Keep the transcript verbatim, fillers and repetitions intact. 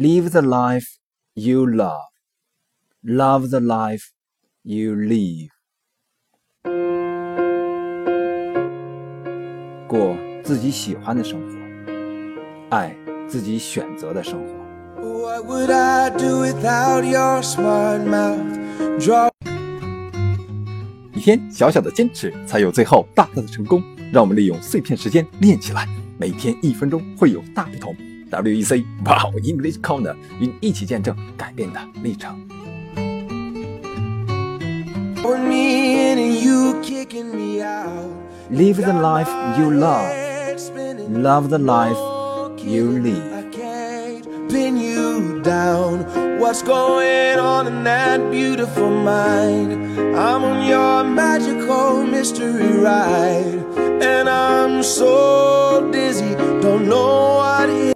Live the life you love. Love the life you live. 过自己喜欢的生活，爱自己选择的生活。 What would I do without your smart mouth? Draw 一天小小的坚持，才有最后大大的成功。让我们利用碎片时间练起来，每天一分钟会有大不同。W E C Wow English Corner 与你一起见证改变的历程。 me in and you kicking me out. Live the life you love. Love the life you live. I can't pin you down. What's going on in that beautiful mind? I'm on your magical mystery ride, and I'm so dizzy, don't know what it is.